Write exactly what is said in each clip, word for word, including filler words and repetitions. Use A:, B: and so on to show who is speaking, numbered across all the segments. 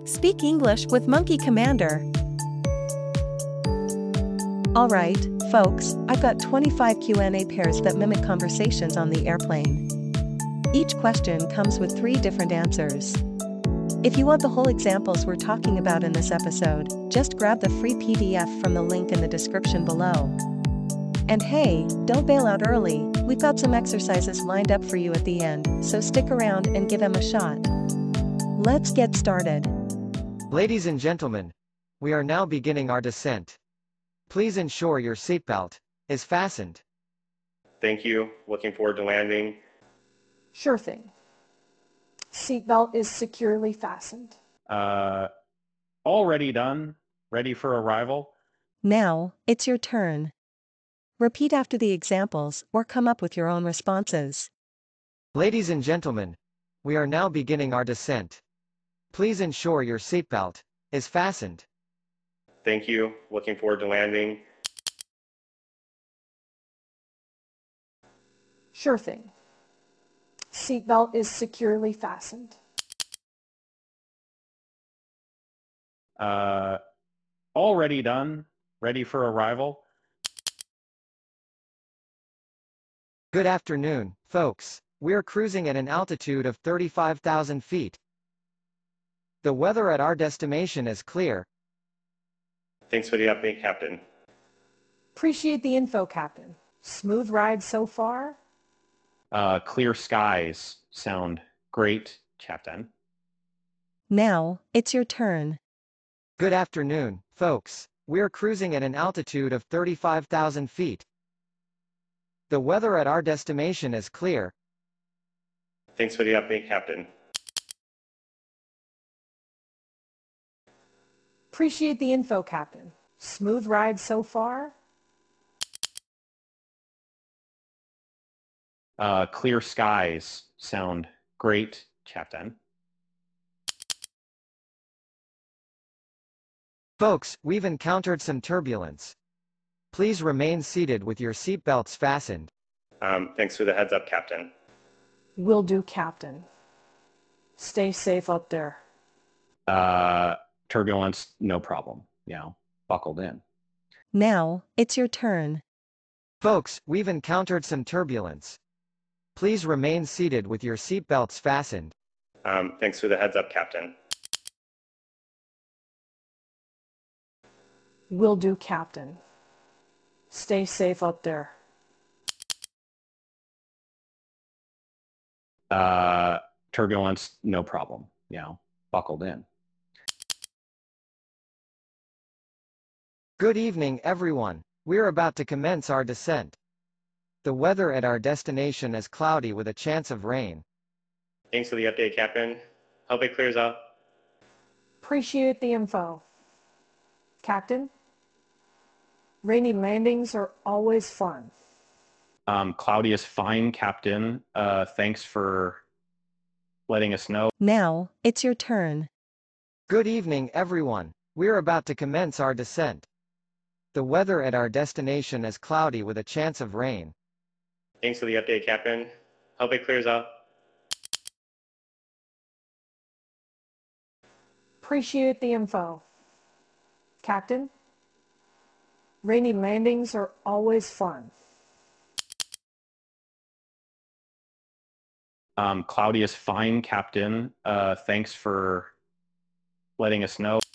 A: Speak English with Monkey Commander. Alright, folks, I've got twenty-five Q and A pairs that mimic conversations on the airplane. Each question comes with three different answers. If you want the whole examples we're talking about in this episode, just grab the free P D F from the link in the description below. And hey, don't bail out early, we've got some exercises lined up for you at the end, so stick around and give them a shot. Let's get started.
B: Ladies and gentlemen, we are now beginning our descent. Please ensure your seatbelt is fastened.
C: Thank you. Looking forward to landing.
D: Sure thing. Seatbelt is securely fastened.
E: Uh, already done. Ready for arrival.
A: Now, it's your turn. Repeat after the examples or come up with your own responses.
B: Ladies and gentlemen, we are now beginning our descent. Please ensure your seatbelt is fastened.
C: Thank you. Looking forward to landing.
D: Sure thing. Seatbelt is securely fastened.
E: Uh, already done. Ready for arrival.
B: Good afternoon, folks. We're cruising at an altitude of thirty-five thousand feet. The weather at our destination is clear.
C: Thanks for the update, Captain.
D: Appreciate the info, Captain. Smooth ride so far?
E: Uh, clear skies sound great, Captain.
A: Now, it's your turn.
B: Good afternoon, folks. We're cruising at an altitude of thirty-five thousand feet. The weather at our destination is clear.
C: Thanks for the update, Captain.
D: Appreciate the info, Captain. Smooth ride so far?
E: Uh, clear skies sound great, Captain.
B: Folks, we've encountered some turbulence. Please remain seated with your seatbelts fastened.
C: Um, thanks for the heads up, Captain.
D: Will do, Captain. Stay safe up there.
E: Uh, turbulence, no problem. You know, buckled in.
A: Now, it's your turn.
B: Folks, we've encountered some turbulence. Please remain seated with your seatbelts fastened.
C: Um, thanks for the heads up, Captain.
D: Will do, Captain. Stay safe up there.
E: Uh, turbulence, no problem. You know, buckled in.
B: Good evening, everyone. We're about to commence our descent. The weather at our destination is cloudy with a chance of rain.
C: Thanks for the update, Captain. Hope it clears up.
D: Appreciate the info. Captain? Rainy landings are always fun.
E: Um, cloudy is fine, Captain. Uh, thanks for letting us know.
A: Now, it's your turn.
B: Good evening, everyone. We're about to commence our descent. The weather at our destination is cloudy with a chance of rain.
C: Thanks for the update, Captain. Hope it clears up.
D: Appreciate the info. Captain? Rainy landings are always fun.
E: Um, cloudy is fine, Captain. Uh, thanks for letting us know.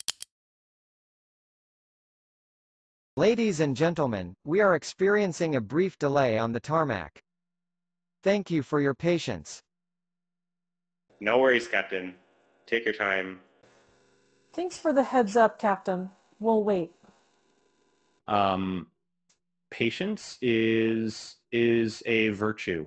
B: Ladies and gentlemen, we are experiencing a brief delay on the tarmac. Thank you for your patience.
C: No worries, Captain. Take your time.
D: Thanks for the heads up, Captain. We'll wait.
E: Um, patience is is a virtue.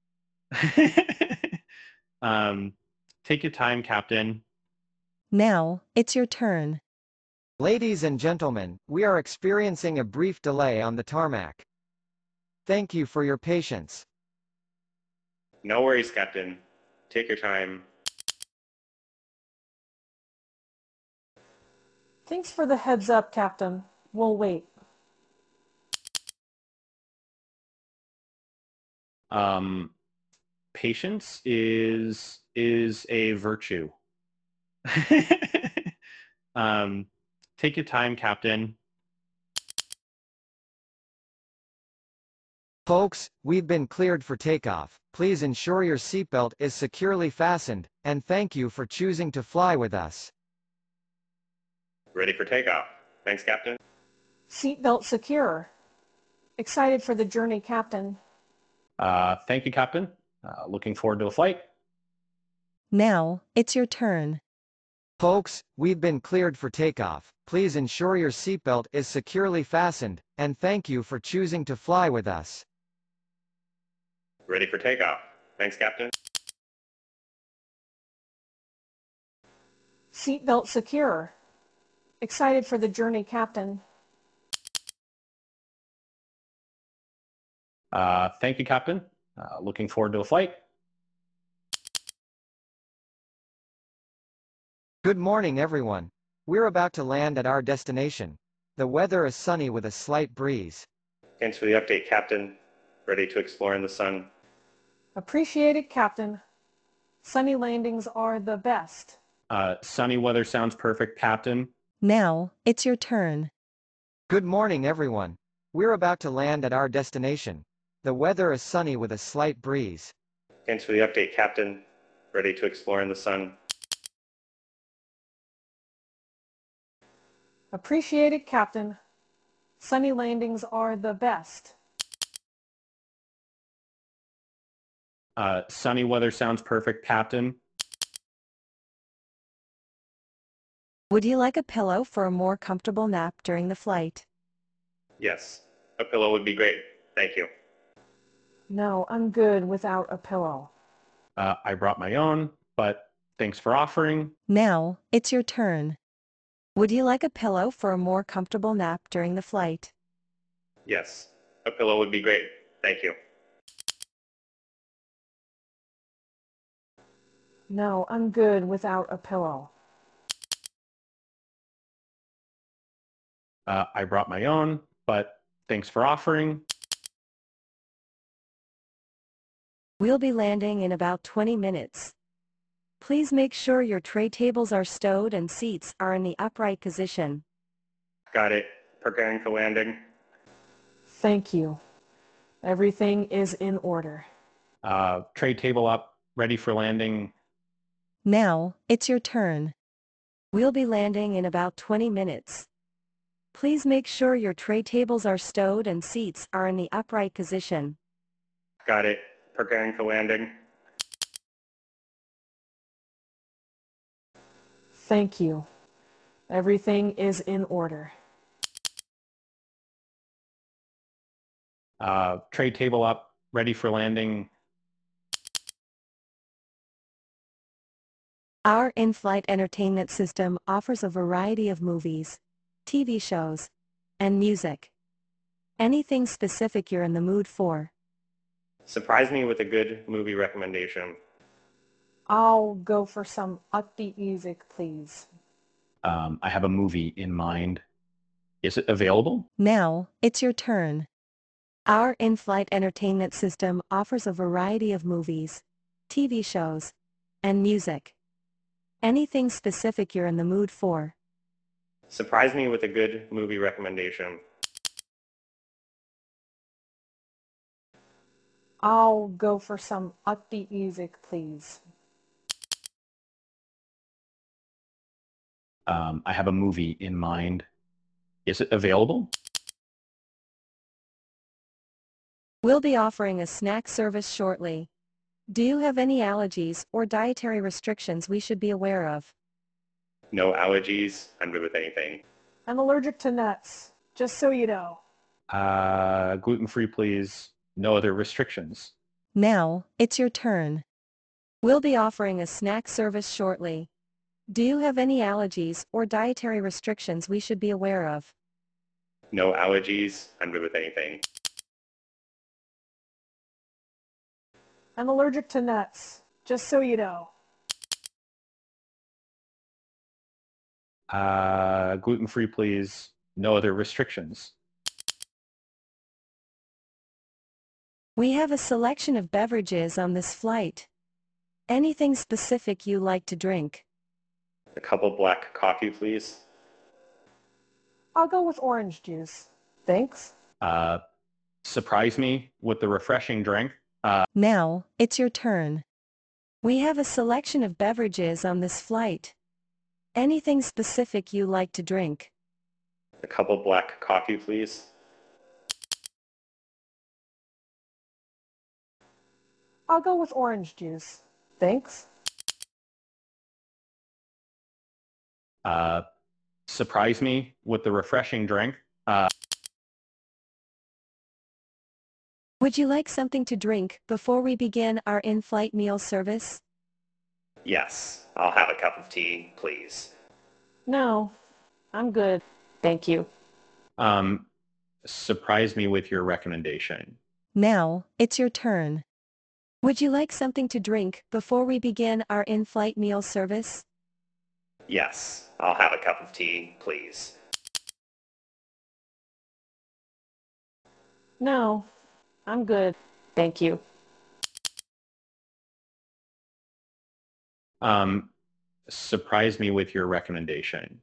E: um, take your time, Captain.
A: Now, it's your turn.
B: Ladies and gentlemen, we are experiencing a brief delay on the tarmac. Thank you for your patience.
C: No worries, Captain. Take your time.
D: Thanks for the heads up, Captain. We'll wait.
E: Um, patience is is a virtue. Um, take your time, Captain.
B: Folks, we've been cleared for takeoff. Please ensure your seatbelt is securely fastened, and thank you for choosing to fly with us.
C: Ready for takeoff. Thanks, Captain.
D: Seatbelt secure. Excited for the journey, Captain.
E: Uh, thank you, Captain. Uh, looking forward to the flight.
A: Now, it's your turn.
B: Folks, we've been cleared for takeoff. Please ensure your seatbelt is securely fastened, and thank you for choosing to fly with us.
C: Ready for takeoff. Thanks, Captain.
D: Seatbelt secure. Excited for the journey, Captain.
E: Uh, thank you, Captain. Uh, looking forward to the flight.
B: Good morning, everyone. We're about to land at our destination. The weather is sunny with a slight breeze.
C: Thanks for the update, Captain. Ready to explore in the sun.
D: Appreciate it, Captain. Sunny landings are the best.
E: Uh, sunny weather sounds perfect, Captain.
A: Now, it's your turn.
B: Good morning, everyone. We're about to land at our destination. The weather is sunny with a slight breeze.
C: Thanks for the update, Captain. Ready to explore in the sun.
D: Appreciate it, Captain. Sunny landings are the best.
E: Uh, sunny weather sounds perfect, Captain.
A: Would you like a pillow for a more comfortable nap during the flight?
C: Yes. A pillow would be great. Thank you.
D: No, I'm good without a pillow.
E: Uh, I brought my own, but thanks for offering.
A: Now, it's your turn. Would you like a pillow for a more comfortable nap during the flight?
C: Yes. A pillow would be great. Thank you.
D: No, I'm good without a pillow.
E: Uh, I brought my own, but thanks for offering.
A: We'll be landing in about twenty minutes. Please make sure your tray tables are stowed and seats are in the upright position.
C: Got it. Preparing for landing.
D: Thank you. Everything is in order.
E: Uh, tray table up, ready for landing.
A: Now, it's your turn. We'll be landing in about twenty minutes. Please make sure your tray tables are stowed and seats are in the upright position.
C: Got it. Preparing for landing.
D: Thank you. Everything is in order.
E: Uh, tray table up, ready for landing.
A: Our in-flight entertainment system offers a variety of movies, T V shows, and music. Anything specific you're in the mood for?
C: Surprise me with a good movie recommendation.
D: I'll go for some upbeat music, please.
E: Um, I have a movie in mind. Is it available?
A: Now, it's your turn. Our in-flight entertainment system offers a variety of movies, T V shows, and music. Anything specific you're in the mood for?
C: Surprise me with a good movie recommendation.
D: I'll go for some upbeat music, please.
E: Um, I have a movie in mind. Is it available?
A: We'll be offering a snack service shortly. Do you have any allergies or dietary restrictions we should be aware of?
C: No allergies. I'm good with anything.
D: I'm allergic to nuts, just so you know.
E: Uh, gluten-free, please. No other restrictions.
A: Now, it's your turn. We'll be offering a snack service shortly. Do you have any allergies or dietary restrictions we should be aware of?
C: No allergies. I'm good with anything.
D: I'm allergic to nuts, just so you know.
E: Uh, gluten-free, please. No other restrictions.
A: We have a selection of beverages on this flight. Anything specific you like to drink?
C: A couple black coffee, please.
D: I'll go with orange juice. Thanks.
E: Uh, surprise me with the refreshing drink. Uh,
A: Now, it's your turn. We have a selection of beverages on this flight. Anything specific you like to drink?
C: A couple black coffee, please.
D: I'll go with orange juice. Thanks.
E: uh, surprise me with the refreshing drink. Uh,
A: Would you like something to drink before we begin our in-flight meal service?
C: Yes, I'll have a cup of tea, please.
D: No, I'm good. Thank you.
E: um, surprise me with your recommendation.
A: Now, it's your turn. Would you like something to drink before we begin our in-flight meal service?
C: Yes, I'll have a cup of tea, please.
D: No, I'm good. Thank you.
E: Um, surprise me with your recommendation.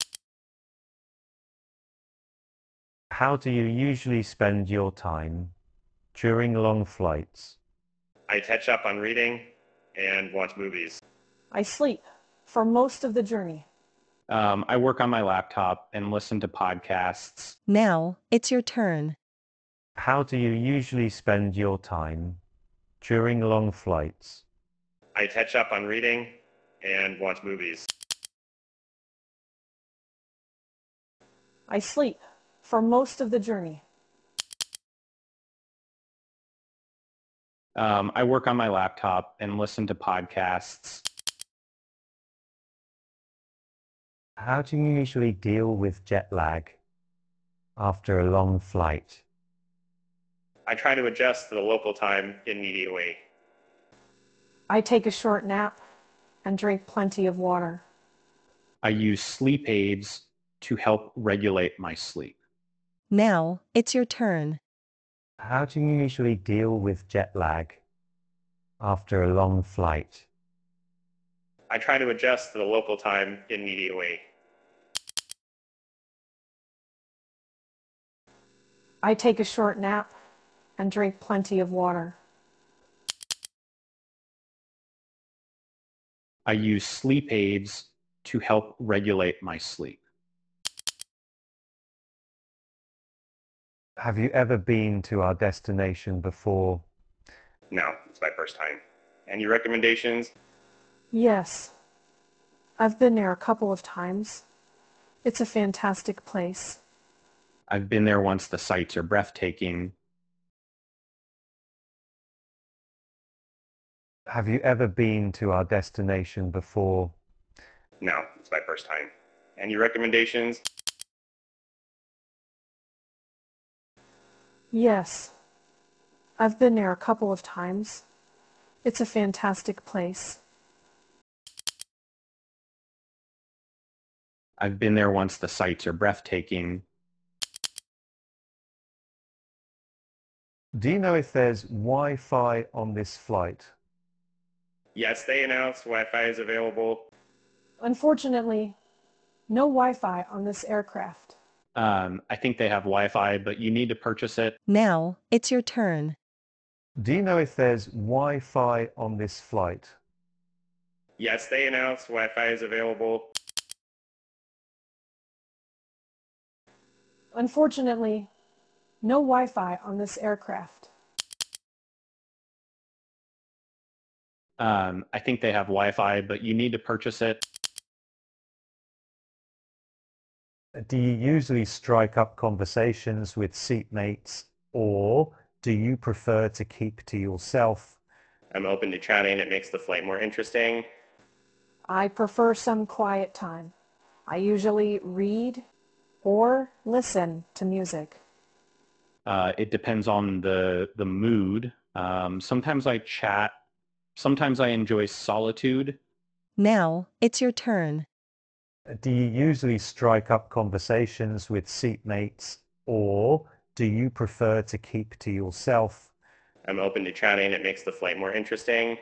F: How do you usually spend your time during long flights?
C: I catch up on reading and watch movies.
D: I sleep for most of the journey.
E: Um, I work on my laptop and listen to podcasts.
A: Now, it's your turn.
F: How do you usually spend your time during long flights?
C: I catch up on reading and watch movies.
D: I sleep for most of the journey.
E: Um, I work on my laptop and listen to podcasts.
F: How do you usually deal with jet lag after a long flight?
C: I try to adjust to the local time immediately.
D: I take a short nap and drink plenty of water.
E: I use sleep aids to help regulate my sleep.
A: Now, it's your turn.
F: How do you usually deal with jet lag after a long flight?
C: I try to adjust to the local time immediately.
D: I take a short nap and drink plenty of water.
E: I use sleep aids to help regulate my sleep.
F: Have you ever been to our destination before?
C: No, it's my first time. Any recommendations?
D: Yes, I've been there a couple of times. It's a fantastic place.
E: I've been there once. The sights are breathtaking.
F: Have you ever been to our destination before?
C: No, it's my first time. Any recommendations?
D: Yes, I've been there a couple of times. It's a fantastic place.
E: I've been there once. The sights are breathtaking.
F: Do you know if there's Wi-Fi on this flight?
C: Yes, they announced Wi-Fi is available.
D: Unfortunately, no Wi-Fi on this aircraft.
E: Um, I think they have Wi-Fi, but you need to purchase it.
A: Now, it's your turn.
F: Do you know if there's Wi-Fi on this flight?
C: Yes, they announced Wi-Fi is available.
D: Unfortunately, no Wi-Fi on this aircraft.
E: Um, I think they have Wi-Fi, but you need to purchase it.
F: Do you usually strike up conversations with seatmates, or do you prefer to keep to yourself?
C: I'm open to chatting. It makes the flight more interesting.
D: I prefer some quiet time. I usually read or listen to music.
E: Uh, it depends on the the mood. Um, sometimes I chat. Sometimes I enjoy solitude.
A: Now, it's your turn.
F: Do you usually strike up conversations with seatmates, or do you prefer to keep to yourself?
C: I'm open to chatting. It makes the flight more interesting.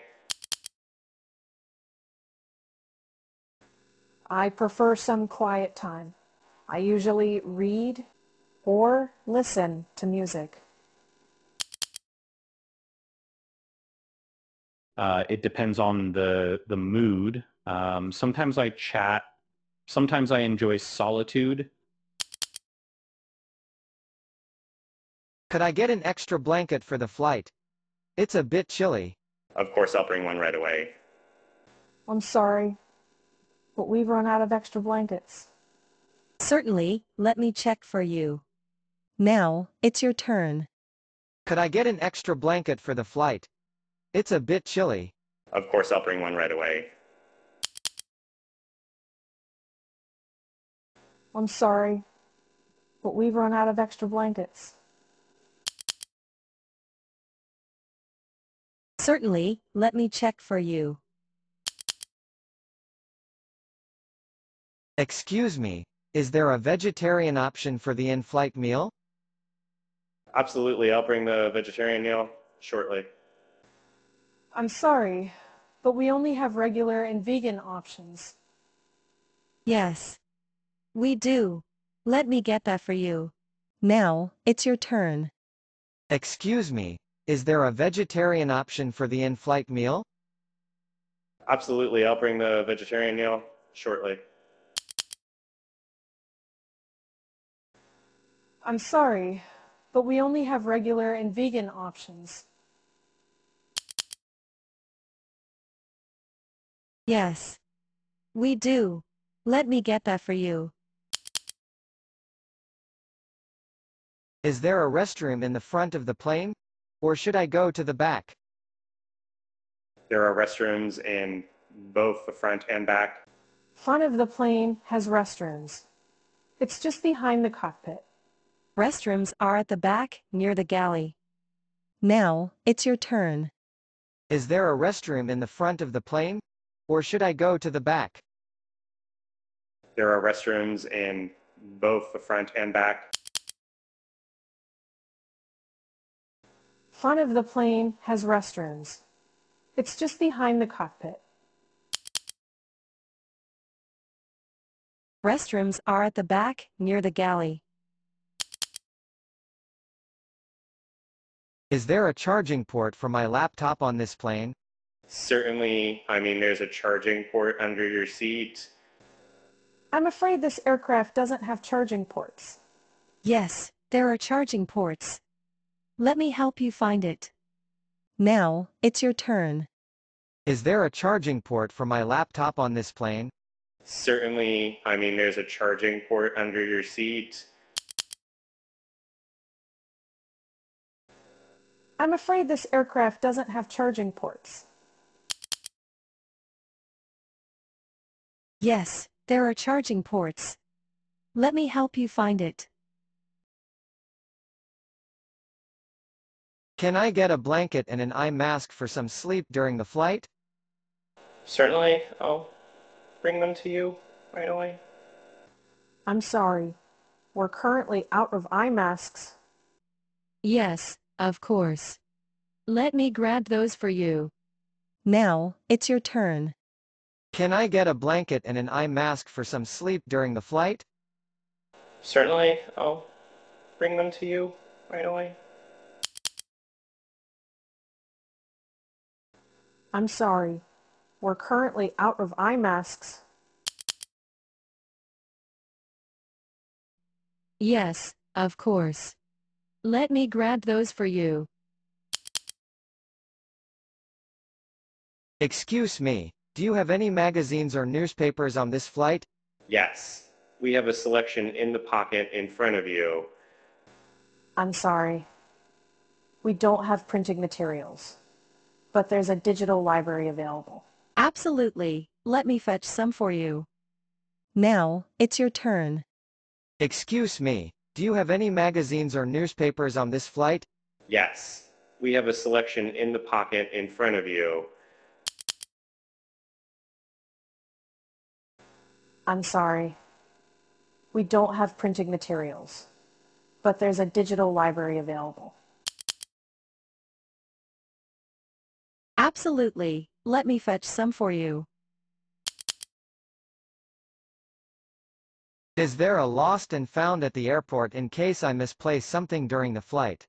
D: I prefer some quiet time. I usually read or listen to music.
E: Uh, it depends on the the mood. Um, sometimes I chat. Sometimes I enjoy solitude.
B: Could I get an extra blanket for the flight? It's a bit chilly.
C: Of course, I'll bring one right away.
D: I'm sorry, but we've run out of extra blankets.
A: Certainly, let me check for you. Now, it's your turn.
B: Could I get an extra blanket for the flight? It's a bit chilly.
C: Of course, I'll bring one right away.
D: I'm sorry, but we've run out of extra blankets.
A: Certainly, let me check for you.
B: Excuse me, is there a vegetarian option for the in-flight meal?
C: Absolutely, I'll bring the vegetarian meal shortly.
D: I'm sorry, but we only have regular and vegan options.
A: Yes. We do. Let me get that for you. Now, it's your turn.
B: Excuse me, is there a vegetarian option for the in-flight meal?
C: Absolutely, I'll bring the vegetarian meal shortly.
D: I'm sorry, but we only have regular and vegan options.
A: Yes. We do. Let me get that for you.
B: Is there a restroom in the front of the plane? Or should I go to the back?
C: There are restrooms in both the front and back.
D: Front of the plane has restrooms. It's just behind the cockpit.
A: Restrooms are at the back, near the galley. Now, it's your turn.
B: Is there a restroom in the front of the plane? Or should I go to the back?
C: There are restrooms in both the front and back.
D: Front of the plane has restrooms. It's just behind the cockpit.
A: Restrooms are at the back, near the galley.
B: Is there a charging port for my laptop on this plane?
C: Certainly, I mean, there's a charging port under your seat.
D: I'm afraid this aircraft doesn't have charging ports.
A: Yes, there are charging ports. Let me help you find it. Now, it's your turn.
B: Is there a charging port for my laptop on this plane?
C: Certainly, I mean, there's a charging port under your seat.
D: I'm afraid this aircraft doesn't have charging ports.
A: Yes, there are charging ports. Let me help you find it.
B: Can I get a blanket and an eye mask for some sleep during the flight?
C: Certainly, I'll bring them to you right away.
D: I'm sorry. We're currently out of eye masks.
A: Yes, of course. Let me grab those for you. Now, it's your turn.
B: Can I get a blanket and an eye mask for some sleep during the flight?
C: Certainly, I'll bring them to you right away.
D: I'm sorry. We're currently out of eye masks.
A: Yes, of course. Let me grab those for you.
B: Excuse me, do you have any magazines or newspapers on this flight?
C: Yes, we have a selection in the pocket in front of you.
D: I'm sorry. We don't have printing materials, but there's a digital library available.
A: Absolutely. Let me fetch some for you. Now, it's your turn.
B: Excuse me, do you have any magazines or newspapers on this flight?
C: Yes, we have a selection in the pocket in front of you.
D: I'm sorry. We don't have printing materials, but there's a digital library available.
A: Absolutely. Let me fetch some for you.
B: Is there a lost and found at the airport in case I misplace something during the flight?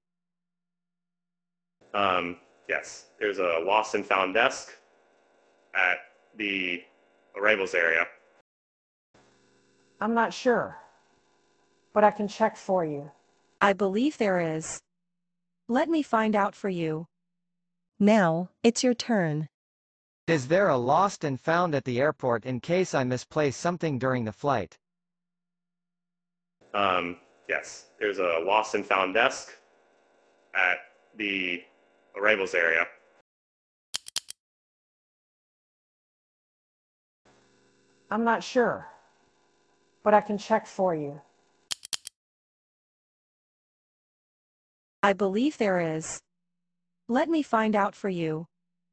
C: Um, yes, there's a lost and found desk at the arrivals area.
D: I'm not sure, but I can check for you.
A: I believe there is. Let me find out for you. Now, it's your turn.
B: Is there a lost and found at the airport in case I misplace something during the flight?
C: Um, yes, there's a lost and found desk at the arrivals area.
D: I'm not sure, but I can check for you.
A: I believe there is. Let me find out for you.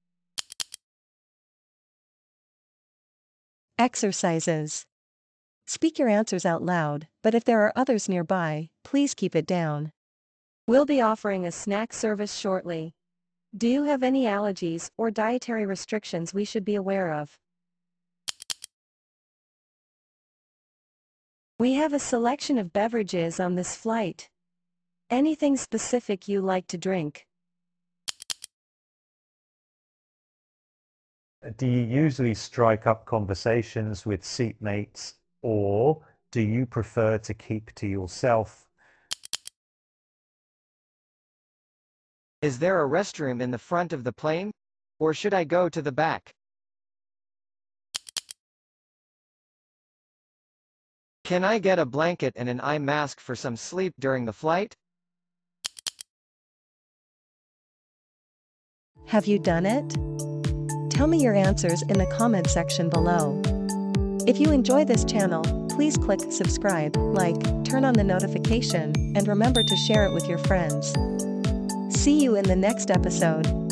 A: Exercises. Speak your answers out loud, but if there are others nearby, please keep it down. We'll be offering a snack service shortly. Do you have any allergies or dietary restrictions we should be aware of? We have a selection of beverages on this flight. Anything specific you like to drink?
F: Do you usually strike up conversations with seatmates, or do you prefer to keep to yourself?
B: Is there a restroom in the front of the plane? Or should I go to the back? Can I get a blanket and an eye mask for some sleep during the flight?
A: Have you done it? Tell me your answers in the comment section below. If you enjoy this channel, please click subscribe, like, turn on the notification, and remember to share it with your friends. See you in the next episode.